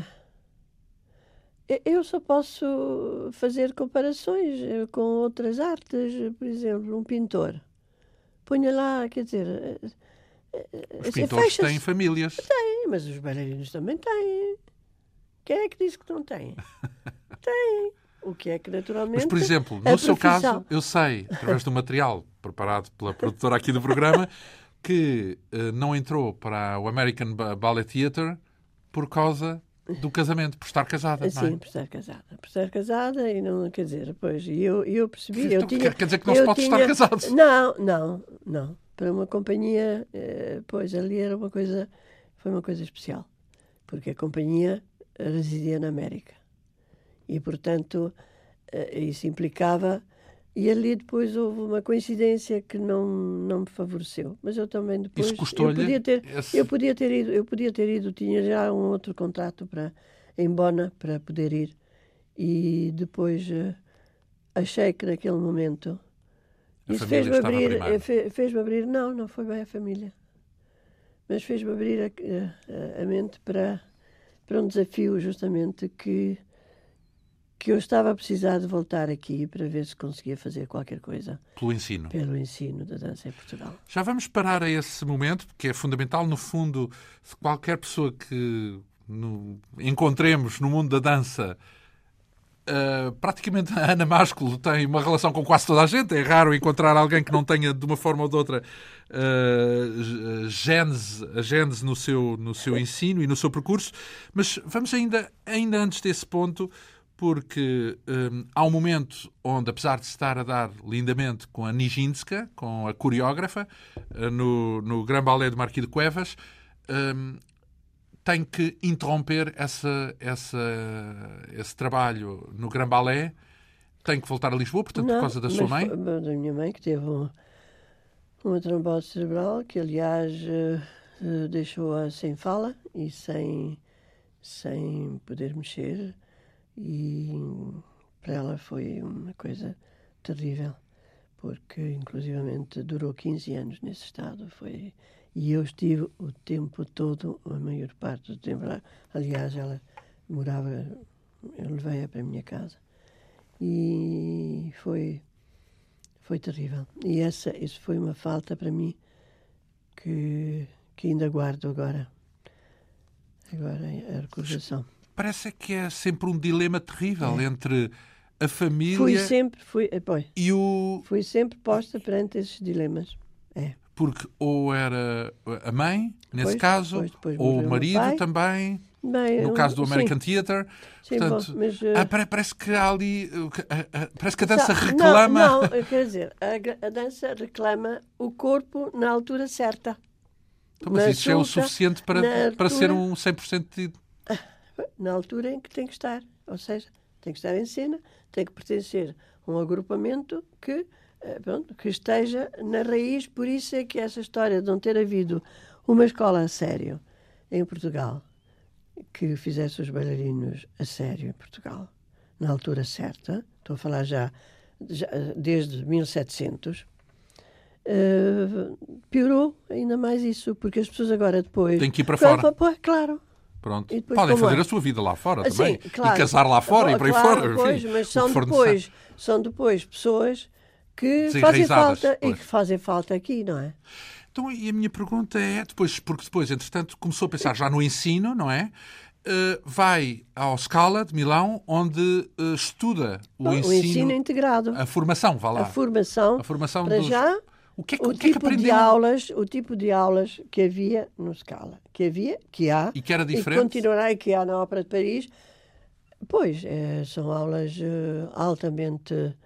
eu só posso fazer comparações com outras artes. Por exemplo, um pintor. Ponha lá, quer dizer... Os pintores têm famílias. Têm, mas os bailarinos também têm. Quem é que disse que não têm? Têm. O que é que, naturalmente... Mas, por exemplo, no seu caso, eu sei, através do material preparado pela produtora aqui do programa, que não entrou para o American Ballet Theatre por causa do casamento, por estar casada, não é? Sim, por estar casada. Por estar casada e não, quer dizer, depois, eu percebi... Então, quer dizer que não se pode estar casado? Não. Para uma companhia, pois, ali era foi uma coisa especial. Porque a companhia residia na América. E, portanto, isso implicava... E ali depois houve uma coincidência que não me favoreceu. Mas eu também depois... Isso custou-lhe? Eu podia ter ido, tinha já um outro contrato em Bona para poder ir. E depois achei que naquele momento... Isso fez-me abrir... Não foi bem a família. Mas fez-me abrir a mente para um desafio, justamente, que eu estava a precisar de voltar aqui para ver se conseguia fazer qualquer coisa. Pelo ensino. Pelo ensino da dança em Portugal. Já vamos parar a esse momento, porque é fundamental, no fundo, qualquer pessoa que encontremos no mundo da dança... praticamente a Ana Másculo tem uma relação com quase toda a gente. É raro encontrar alguém que não tenha, de uma forma ou de outra, a gênese no seu ensino e no seu percurso. Mas vamos ainda antes desse ponto porque há um momento onde, apesar de se estar a dar lindamente com a Nijinská, com a coreógrafa, no Grand Ballet de Marquis de Cuevas, tem que interromper esse trabalho no Grand Ballet, tem que voltar a Lisboa, portanto, por causa da sua mãe. Da minha mãe, que teve uma trombose cerebral, que aliás deixou-a sem fala e sem poder mexer, e para ela foi uma coisa terrível, porque inclusivamente durou 15 anos nesse estado. E eu estive o tempo todo, a maior parte do tempo lá. Aliás, ela morava, eu levei-a para a minha casa. E foi terrível. E isso foi uma falta para mim que ainda guardo agora a recordação. Parece que é sempre um dilema terrível entre a família Fui sempre posta perante esses dilemas. Porque ou era a mãe, nesse Depois caso, ou o marido também, no caso do American Theatre. Sim, portanto, bom, mas, parece que há ali... Parece que a dança reclama... Não, quer dizer, a dança reclama o corpo na altura certa. Então, mas isso é o suficiente para ser um 100% na altura em que tem que estar. Ou seja, tem que estar em cena, tem que pertencer a um agrupamento que esteja na raiz. Por isso é que essa história de não ter havido uma escola a sério em Portugal, que fizesse os bailarinos a sério em Portugal, na altura certa, estou a falar já desde 1700, piorou ainda mais isso, porque as pessoas agora depois... Tem que ir para fora. Claro. Pronto. Podem fazer a sua vida lá fora também. Sim, claro. E casar lá fora e para aí fora. Pois, enfim, mas são depois pessoas que fazem falta aqui, não é? Então, e a minha pergunta é, porque depois, entretanto, começou a pensar já no ensino, não é? Vai ao Scala de Milão, onde estuda o ensino integrado. A formação, vá lá. A formação para já... O tipo de aulas que havia no Scala, que há e que era diferente, e continuará e que há na Ópera de Paris. Pois, são aulas altamente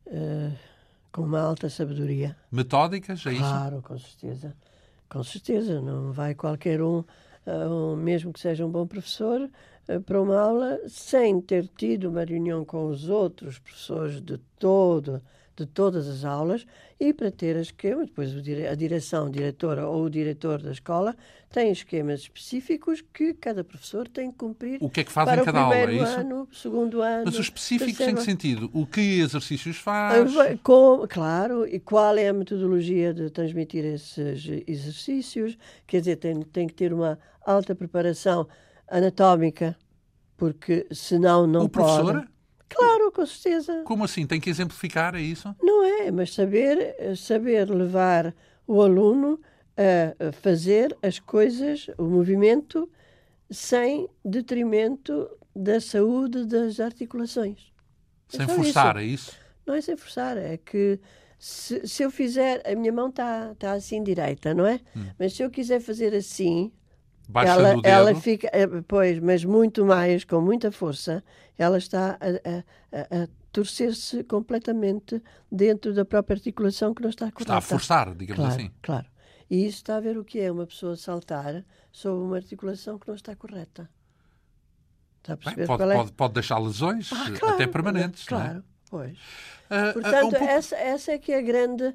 com uma alta sabedoria. Metódicas, é isso? Claro, com certeza. Não vai qualquer mesmo que seja um bom professor, para uma aula sem ter tido uma reunião com os outros professores de todas as aulas, e para ter esquemas. Depois a diretora ou o diretor da escola tem esquemas específicos que cada professor tem que cumprir. O que é que faz em cada aula, é isso? Ano, segundo ano. Mas os específicos em que sentido? O que exercícios faz? Claro, e qual é a metodologia de transmitir esses exercícios? Quer dizer, tem que ter uma alta preparação anatómica, porque senão não pode. O professor? Claro, com certeza. Como assim? Tem que exemplificar, é isso? Não é, mas saber levar o aluno a fazer as coisas, o movimento, sem detrimento da saúde das articulações. Sem forçar, é isso? Não é sem forçar, é que se eu fizer... A minha mão está assim direita, não é? Mas se eu quiser fazer assim... Baixando o dedo. Ela fica, mas muito mais, com muita força, ela está a torcer-se completamente dentro da própria articulação que não está correta. Está a forçar, digamos assim. Claro. E isso está a ver o que é uma pessoa saltar sobre uma articulação que não está correta. Está a perceber qual é? Pode deixar lesões, até permanentes. Claro, não é? Pois. Portanto, essa é que é a grande...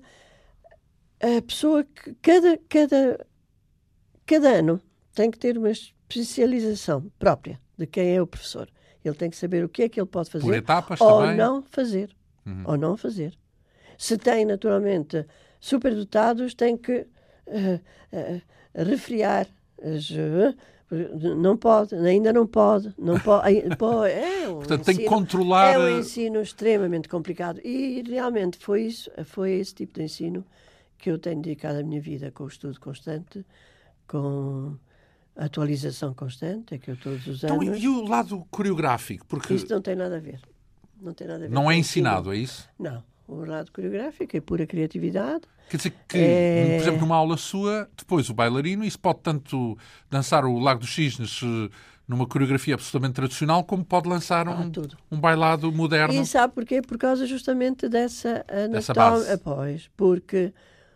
A pessoa que cada ano tem que ter uma especialização própria de quem é o professor. Ele tem que saber o que é que ele pode fazer. Por etapas ou também. Não fazer. Ou não fazer. Se tem, naturalmente, superdotados, tem que refriar. Não pode, ainda não pode. Portanto, tem que controlar... É um ensino extremamente complicado. E, realmente, foi esse tipo de ensino que eu tenho dedicado a minha vida, com o estudo constante, com... atualização constante, é que eu todos os anos... Então, e o lado coreográfico? Porque isso não tem nada a ver. Não é ensinado, é isso? Não. o lado coreográfico, é pura criatividade. Quer dizer que, por exemplo, numa aula sua, depois o bailarino, isso pode tanto dançar o Lago dos Cisnes numa coreografia absolutamente tradicional, como pode lançar um bailado moderno. E sabe porquê? Por causa justamente dessa base. Pois, porque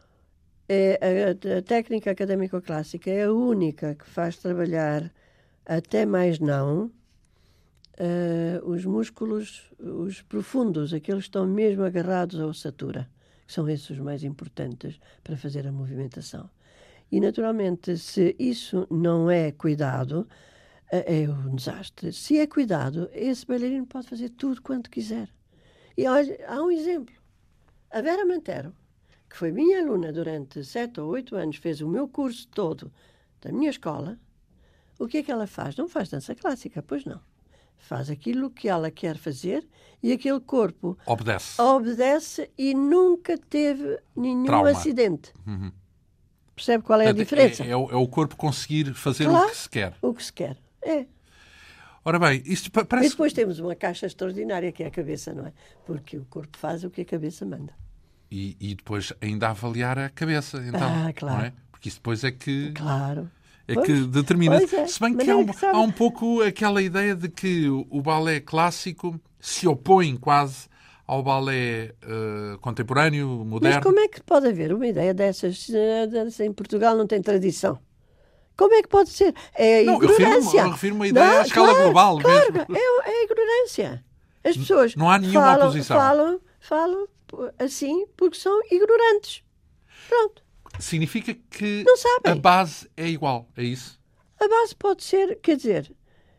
a técnica académico-clássica é a única que faz trabalhar, até mais não, os músculos, os profundos, aqueles que estão mesmo agarrados à ossatura, que são esses os mais importantes para fazer a movimentação. E, naturalmente, se isso não é cuidado, é um desastre. Se é cuidado, esse bailarino pode fazer tudo quanto quiser. E olha, há um exemplo. A Vera Mantero, que foi minha aluna durante 7 ou 8 anos, fez o meu curso todo da minha escola, o que é que ela faz? Não faz dança clássica, pois não. Faz aquilo que ela quer fazer e aquele corpo obedece e nunca teve nenhum acidente. Uhum. Percebe qual é a diferença? É o corpo conseguir fazer o que se quer. O que se quer, é. Ora bem, isto parece... E depois temos uma caixa extraordinária que é a cabeça, não é? Porque o corpo faz o que a cabeça manda. E depois ainda avaliar a cabeça, então. Claro. Não é? Porque isso depois é que... Claro. Que determina. É. Se bem que há um pouco aquela ideia de que o balé clássico se opõe quase ao balé contemporâneo, moderno. Mas como é que pode haver uma ideia dessas? Em Portugal não tem tradição. Como é que pode ser? É ignorância. Eu refiro uma ideia à escala global. Claro, mesmo. É ignorância. As pessoas não há nenhuma oposição. Falam assim porque são ignorantes. Pronto. Significa que não sabem. A base é igual, é isso? A base pode ser, quer dizer,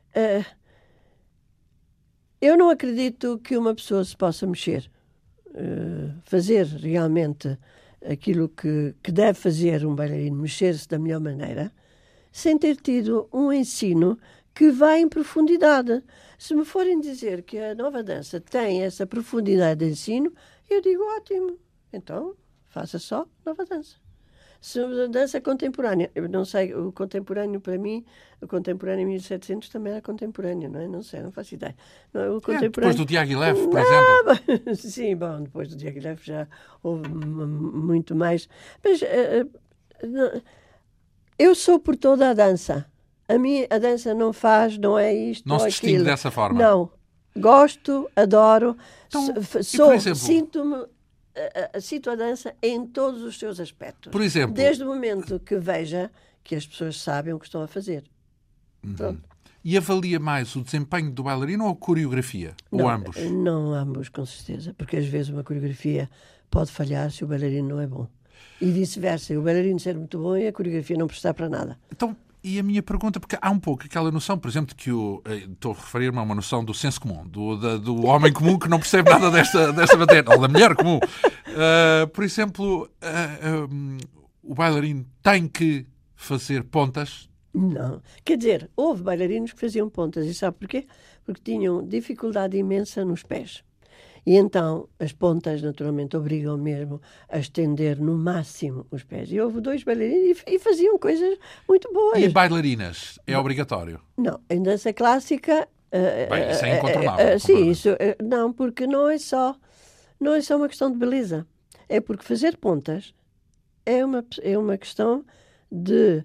eu não acredito que uma pessoa se possa mexer, fazer realmente aquilo que deve fazer um bailarino, mexer-se da melhor maneira, sem ter tido um ensino que vai em profundidade. Se me forem dizer que a nova dança tem essa profundidade de ensino, eu digo ótimo, então faça só nova dança. Se a dança contemporânea, eu não sei, o contemporâneo para mim, o contemporâneo em 1700 também era contemporâneo, não é? Não sei, não faço ideia. Não, depois do Diaghilev, por exemplo. Sim, bom, depois do Diaghilev já houve muito mais. Mas eu sou por toda a dança. A dança não é isto não ou se aquilo. distingue dessa forma. Não. Gosto, adoro, exemplo, sinto-me... Sinto a dança em todos os seus aspectos. Por exemplo... Desde o momento que veja que as pessoas sabem o que estão a fazer. Pronto. E avalia mais o desempenho do bailarino ou a coreografia? Não, ou ambos? Não, ambos, com certeza. Porque às vezes uma coreografia pode falhar se o bailarino não é bom. E vice-versa. O bailarino ser muito bom e a coreografia não prestar para nada. Então... E a minha pergunta, porque há um pouco aquela noção, por exemplo, de que estou a referir-me a uma noção do senso comum, do homem comum que não percebe nada desta matéria, ou da mulher comum. Por exemplo, o bailarino tem que fazer pontas? Não. Quer dizer, houve bailarinos que faziam pontas. E sabe porquê? Porque tinham dificuldade imensa nos pés. E então as pontas, naturalmente, obrigam mesmo a estender no máximo os pés. E houve 2 bailarinos e faziam coisas muito boas. E bailarinas? É obrigatório? Não. Em dança clássica... Bem, isso é incontornável. Sim, isso... não, porque não é só uma questão de beleza. É porque fazer pontas é uma questão de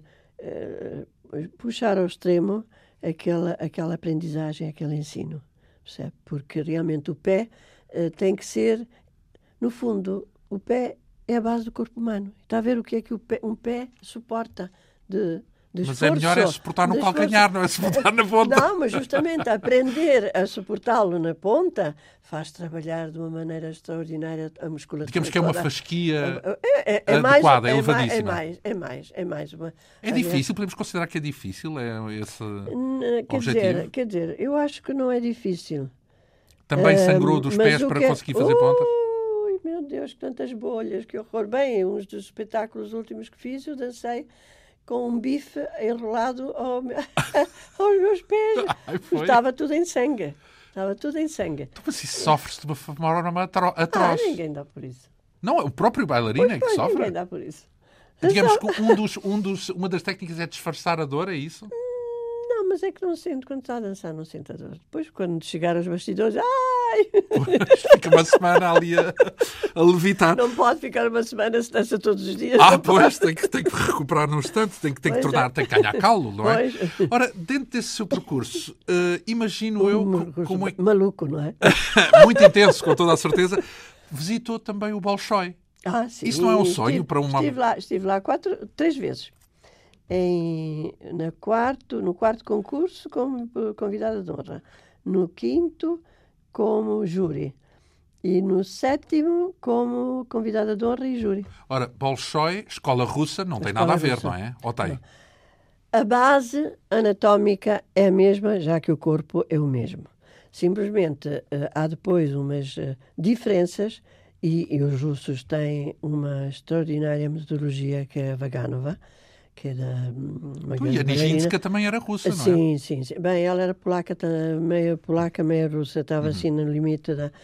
puxar ao extremo aquela aprendizagem, aquele ensino. Percebe? Porque realmente o pé... tem que ser, no fundo, o pé é a base do corpo humano. Está a ver o que é que um pé suporta de mas esforço. É melhor suportar no calcanhar, não é suportar na ponta. Não, mas justamente aprender a suportá-lo na ponta faz trabalhar de uma maneira extraordinária a musculatura. Digamos que é uma fasquia adequada, elevadíssima. É mais uma... É difícil, podemos considerar que é difícil esse objetivo? Quer dizer, eu acho que não é difícil. Também sangrou dos pés para conseguir fazer pontas? Ui, meu Deus, que tantas bolhas, que horror. Bem, uns dos espetáculos últimos que fiz, eu dancei com um bife enrolado aos meus pés. Estava tudo em sangue. Estava tudo em sangue. Então, mas isso sofre-se de uma forma atroz. Ninguém dá por isso. Não, o próprio bailarino é que sofre? Ninguém dá por isso. Digamos que uma das técnicas é disfarçar a dor, é isso? Não, mas é que não sinto, quando está a dançar, não sinto a dor. Depois, quando chegar aos bastidores, sai. Pois, fica uma semana ali a levitar. Não pode ficar uma semana se dança todos os dias. Pois, tem que recuperar num instante, tem que tornar, tem que ganhar calo, não é? Pois. Ora, dentro desse seu percurso, imagino eu como é maluco, não é? muito intenso, com toda a certeza, visitou também o Bolshoi. Sim. Isso não é um sonho para uma... Estive lá 3 vezes. No quarto concurso como convidada de honra. No quinto como júri. E no 7º como convidada de honra e júri. Ora, Bolshoi, escola russa, não tem nada a ver, não é? Ou tem? Não. A base anatómica é a mesma, já que o corpo é o mesmo. Simplesmente há depois umas diferenças e os russos têm uma extraordinária metodologia que é a Vaganova, que é uma grande E a Nijinsky também era russa, não é? Sim. Bem, ela era polaca, meio polaca, meio russa, estava assim no limite da...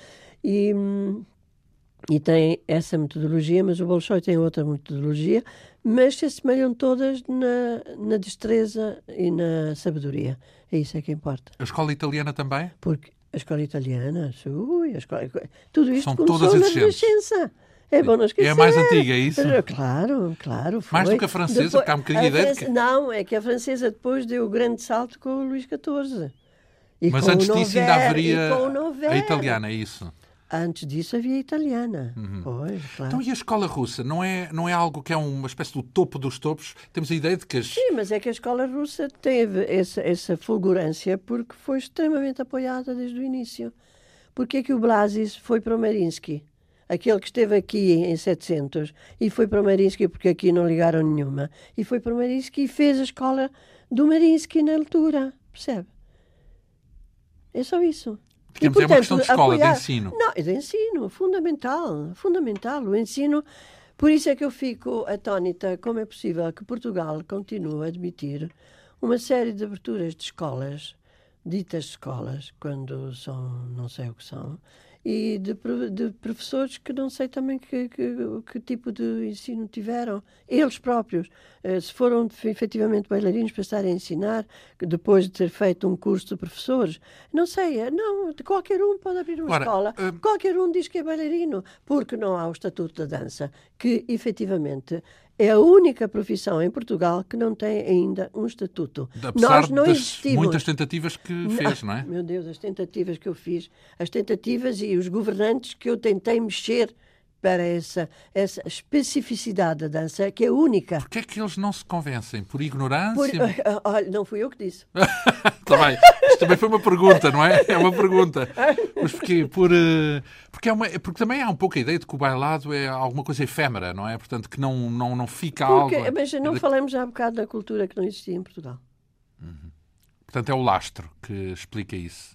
E tem essa metodologia, mas o Bolshoi tem outra metodologia, mas se assemelham todas na destreza e na sabedoria. É isso é que importa. A escola italiana também? Porque a escola italiana, tudo isto São começou todas na exigentes. Renascença. É bom não esquecer. É a mais antiga, é isso? Claro. Foi. Mais do que a francesa, porque há um bocadinho de ideia de que... Não, é que a francesa depois deu o grande salto com o Luís XIV. Mas antes disso ainda haveria a a italiana, é isso? Antes disso havia a italiana. Pois, claro. Então, e a escola russa? Não é algo que é uma espécie do topo dos topos? Temos a ideia de que as... Sim, mas é que a escola russa teve essa fulgurância porque foi extremamente apoiada desde o início. Porque é que o Blazis foi para o Mariinsky? Aquele que esteve aqui em 700 e foi para o Mariinsky porque aqui não ligaram nenhuma. E foi para o Mariinsky e fez a escola do Mariinsky na altura. Percebe? É só isso. Digamos, é uma questão de escola, de ensino. Não, é de ensino, fundamental. O ensino. Por isso é que eu fico atónita como é possível que Portugal continue a admitir uma série de aberturas de escolas, ditas escolas, quando são, não sei o que são, e de professores que não sei também que tipo de ensino tiveram. Eles próprios, se foram efetivamente bailarinos para estarem a ensinar, depois de ter feito um curso de professores, não sei, não, qualquer um pode abrir uma escola, qualquer um diz que é bailarino, porque não há o Estatuto da Dança, que efetivamente é a única profissão em Portugal que não tem ainda um estatuto. Apesar Nós não das existimos. muitas tentativas que fez, não é? Meu Deus, as tentativas que eu fiz, as tentativas e os governantes que eu tentei mexer para essa especificidade da dança, que é única. Porquê é que eles não se convencem? Por ignorância? Olha, não fui eu que disse. Está bem. Isto também foi uma pergunta, não é? É uma pergunta. Mas porquê? Porque também há um pouco a ideia de que o bailado é alguma coisa efêmera, não é? Portanto, que não fica algo... Mas não falamos já há bocado da cultura que não existia em Portugal. Portanto, é o lastro que explica isso.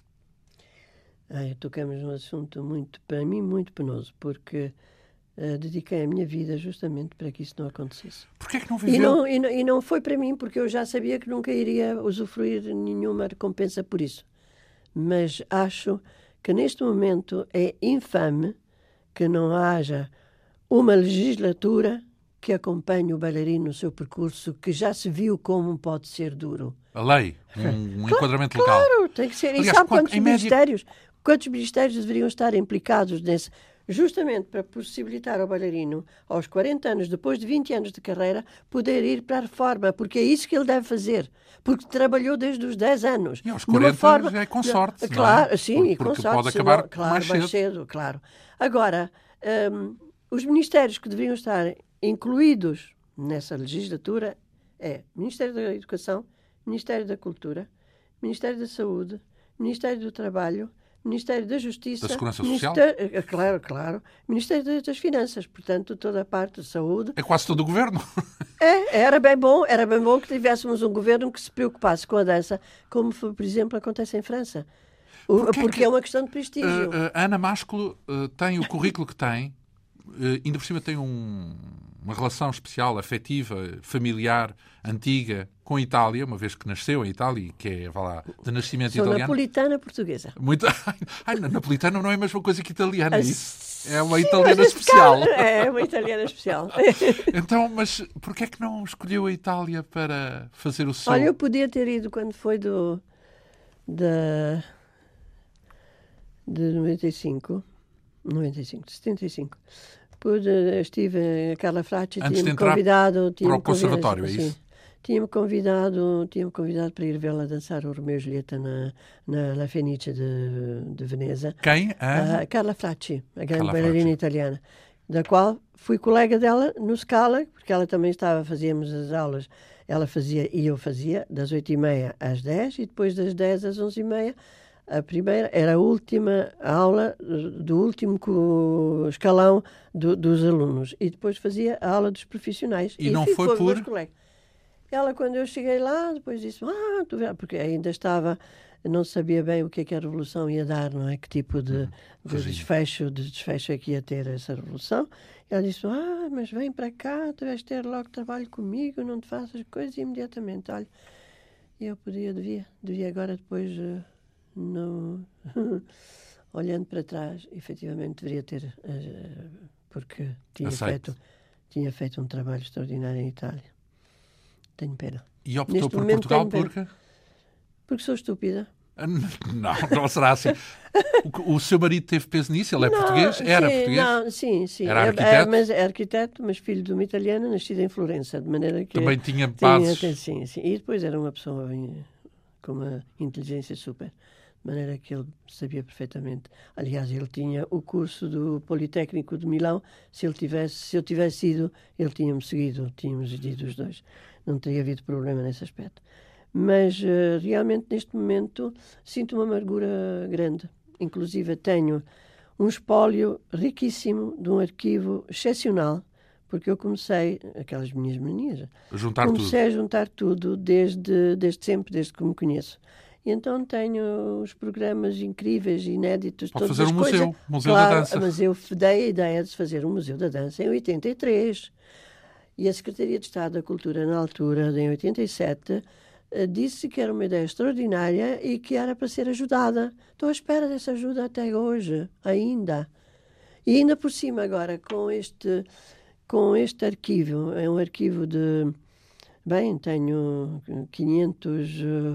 Tocamos num assunto para mim, muito penoso, porque dediquei a minha vida justamente para que isso não acontecesse. Porquê é que não viveu? E não foi para mim, porque eu já sabia que nunca iria usufruir nenhuma recompensa por isso. Mas acho que neste momento é infame que não haja uma legislatura que acompanhe o bailarino no seu percurso, que já se viu como pode ser duro. A lei, um enquadramento legal. Claro, tem que ser. Aliás, e sabe quantos ministérios deveriam estar implicados nesse... Justamente para possibilitar ao bailarino, aos 40 anos, depois de 20 anos de carreira, poder ir para a reforma, porque é isso que ele deve fazer, porque trabalhou desde os 10 anos. E aos 40 já é com sorte, claro, não é? Sim, e com porque sorte. pode acabar claro, mais cedo. Claro. Agora, os ministérios que deveriam estar incluídos nessa legislatura é Ministério da Educação, Ministério da Cultura, Ministério da Saúde, Ministério do Trabalho, Ministério da Justiça... Da Segurança Social? Claro. Ministério das Finanças, portanto, toda a parte de saúde. É quase todo o governo. Era bem bom que tivéssemos um governo que se preocupasse com a dança, como, por exemplo, acontece em França. Porque é uma questão de prestígio. A Ana Másculo tem o currículo que tem, ainda por cima tem uma relação especial, afetiva, familiar, antiga, com a Itália, uma vez que nasceu em Itália, que é, vá lá, de nascimento Sou italiano. napolitana portuguesa. Muito... napolitana não é a mesma coisa que italiana, isso. É uma italiana especial. É uma italiana especial. Então, mas porquê é que não escolheu a Itália para fazer o seu... Olha, eu podia ter ido quando foi de 95, de 75. Estive, a Carla Fracci tinha-me convidado... para o conservatório, é isso? Sim. Tinha-me convidado para ir vê-la dançar o Romeo e Julieta na La Fenice de Veneza. Quem? A Carla Fracci, a grande bailarina italiana, da qual fui colega dela no Scala, porque ela também fazíamos as aulas, ela fazia e eu fazia, das 8h30 às 10, e depois das 10 às 11h30, a primeira era a última aula do último escalão dos alunos, e depois fazia a aula dos profissionais. E não foi por... Ela, quando eu cheguei lá, depois disse, tu vês, porque ainda não sabia bem o que é que a revolução ia dar, não é? Que tipo de desfecho é que ia ter essa revolução. Ela disse, mas vem para cá, tu vais ter logo trabalho comigo, não te faças coisas imediatamente. Olha, eu devia agora depois, olhando para trás, efetivamente deveria ter, porque tinha feito um trabalho extraordinário em Itália. Tenho pena. E optou por Portugal porque? Porque sou estúpida. Não será assim. O seu marido teve peso nisso? Ele é português? Era português? Sim. Era arquiteto? Mas é arquiteto, mas filho de uma italiana, nascida em Florença, de maneira que... Também tinha bases? Sim. E depois era uma pessoa com uma inteligência super, de maneira que ele sabia perfeitamente. Aliás, ele tinha o curso do Politécnico de Milão. Se eu tivesse ido, ele tinha-me seguido. Tínhamos ido os dois. Não teria havido problema nesse aspecto. Mas, realmente, neste momento, sinto uma amargura grande. Inclusive, tenho um espólio riquíssimo de um arquivo excepcional, porque eu comecei, aquelas minhas manias, a juntar tudo desde sempre, desde que me conheço. E então tenho os programas incríveis, inéditos, pode todas fazer as museu, coisas. Museu da Dança. Mas eu dei a ideia de fazer um Museu da Dança em 83. E a Secretaria de Estado da Cultura, na altura, em 87, disse que era uma ideia extraordinária e que era para ser ajudada. Estou à espera dessa ajuda até hoje, ainda. E ainda por cima agora, com este arquivo, é um arquivo de... Bem, tenho 500...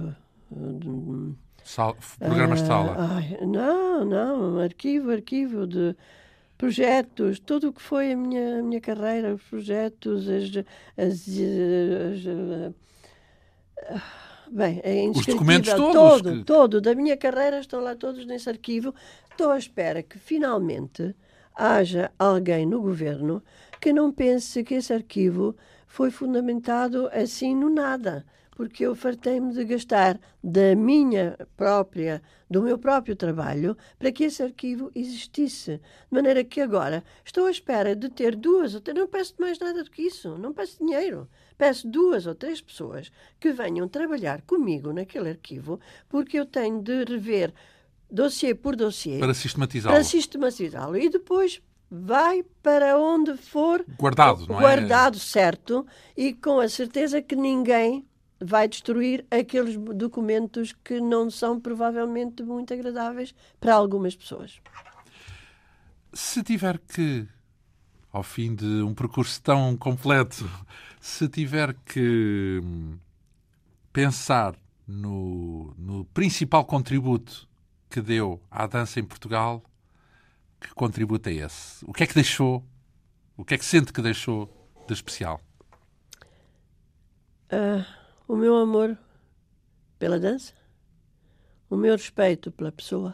programas de sala? Não, arquivo de... projetos, tudo o que foi a minha carreira, os projetos, bem, é indescritível. Os documentos todos? Todo, da minha carreira estão lá todos nesse arquivo. Estou à espera que finalmente haja alguém no governo que não pense que esse arquivo foi fundamentado assim no nada. Porque eu fartei-me de gastar do meu próprio trabalho para que esse arquivo existisse. De maneira que agora estou à espera de ter não peço mais nada do que isso, não peço dinheiro. Peço 2 ou 3 pessoas que venham trabalhar comigo naquele arquivo, porque eu tenho de rever dossiê por dossiê. Para sistematizá-lo. E depois vai para onde for guardado, não é? Guardado, certo, e com a certeza que ninguém vai destruir aqueles documentos que não são provavelmente muito agradáveis para algumas pessoas. Se tiver que, ao fim de um percurso tão completo, se tiver que pensar no principal contributo que deu à dança em Portugal, que contributo é esse? O que é que deixou? O que é que sente que deixou de especial? O meu amor pela dança, o meu respeito pela pessoa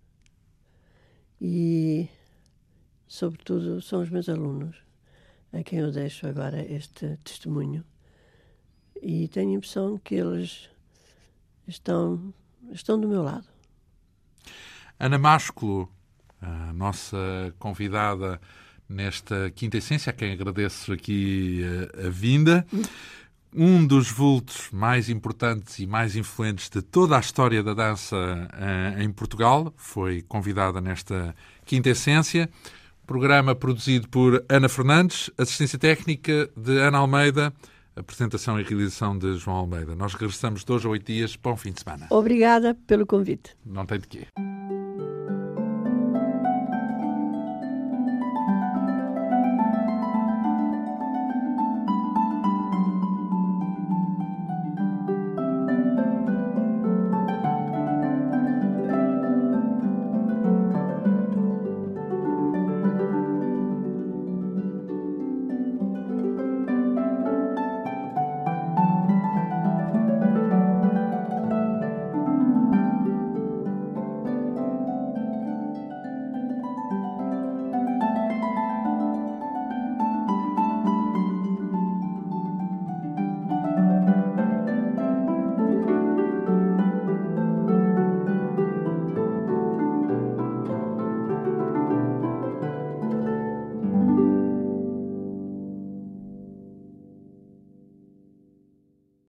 e, sobretudo, são os meus alunos a quem eu deixo agora este testemunho. E tenho a impressão que eles estão do meu lado. Ana Másculo, a nossa convidada nesta Quinta Essência, a quem agradeço aqui a vinda. Um dos vultos mais importantes e mais influentes de toda a história da dança em Portugal, foi convidada nesta Quinta Essência. Programa produzido por Ana Fernandes, assistência técnica de Ana Almeida, apresentação e realização de João Almeida. Nós regressamos de hoje a 8 dias. Bom fim de semana. Obrigada pelo convite. Não tem de quê.